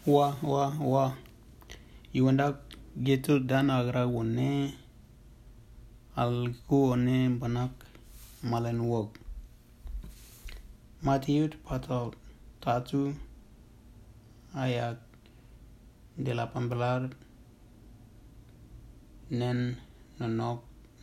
Wah. Iwanda gitu dan agra wone alku one banak malen wog. Matiut pasal 1 ayat 18 nen nonok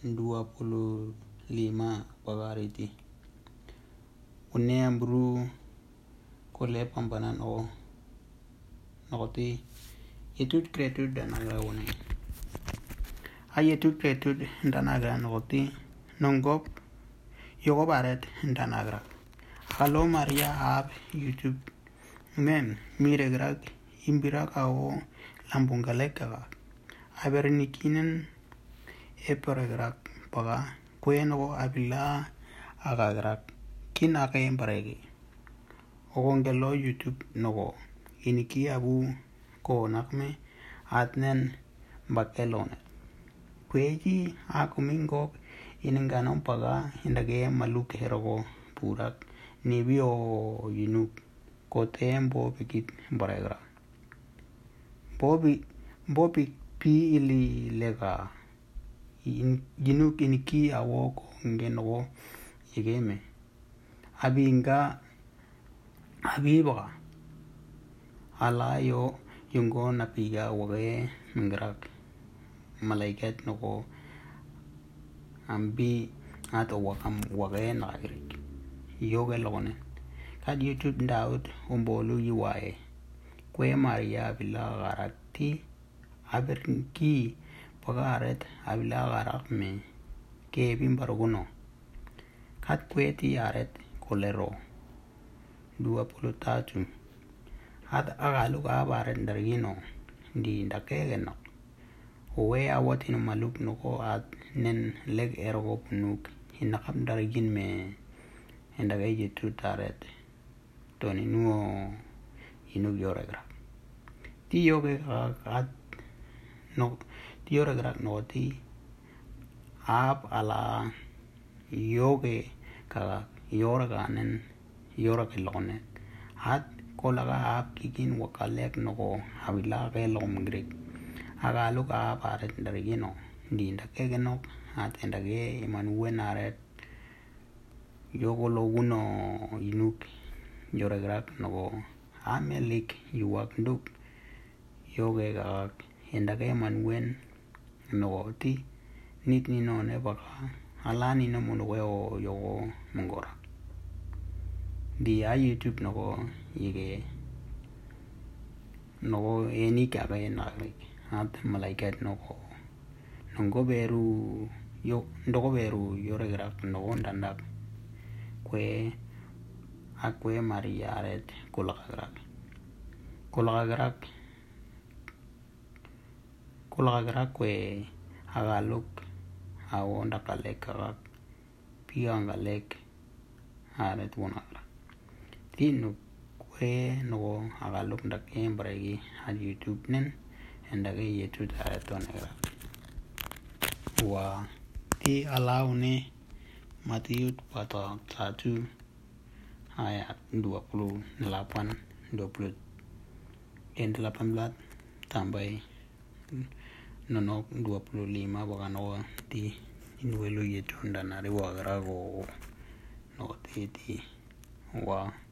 25 pagariti. Une ambru kole pampanan o nokoti itu kreatif dan agra wone. Ayetut kreatif dan agra nokoti nonggop yoko baret dan agra. Kalau Maria app YouTube men mire grak imbira kao lambung galek kaga. Abernikinen eperegrak paga kueno abila agagrak kin akayen paregi. Ogongelo YouTube nogo iniki abu ko nakme atnen bakelone. Kweji akumingok ininganon paga indage maluk herogo purak nibio yinuk kotembo pikit baregra. Bobi pi ili lega yinuk iniki awoko ngenogo igeme. Abiba ala yo yungo napiga wage mingrak malaikat noko ambi ato wakam wage nagrik yoga lone kad YouTube Daud umbolu yiwae kwe Maria bila garakti abernki pagaret abila garak me ke bimbaruguno kad kweti aret kolero 23 ad agalu gabaret dargino di ndakegeno owe awatin maluk noko ad nen leg ergo punuk hinakam dargin me endage jitu taret toni nuo inuk yoregra ti yoge ad no ti yoregra no ti ap ala yoge ka yoraga nen yoraga lone ad kolaga ap kikin wakalek noko habila ke lom grik agalu ka paret dargino di ndake no at endage imanuwe naret yogo loguno inuk yoregrak nogo amelik yuwak nduk yoge gak endage manwen nogo ti nit nino ne baka alani no munuwe o yogo mungora di YouTube nogo yige nogo eni kaga enagrik at malaikat nogo nongo beru yoregrak nogo ndandak kwe Maria ret kulagrak kwe agaluk awonda kalek kagak piangalek aret wonagra tinu kwe no agaluk ndak embregi ad YouTube nen endage YouTube aret wonagra wa ti alaune Matiut pasal 1 ayat 18 tambah nonok 25 bakano ti inuelu yetu ndanari wagarago no ti wa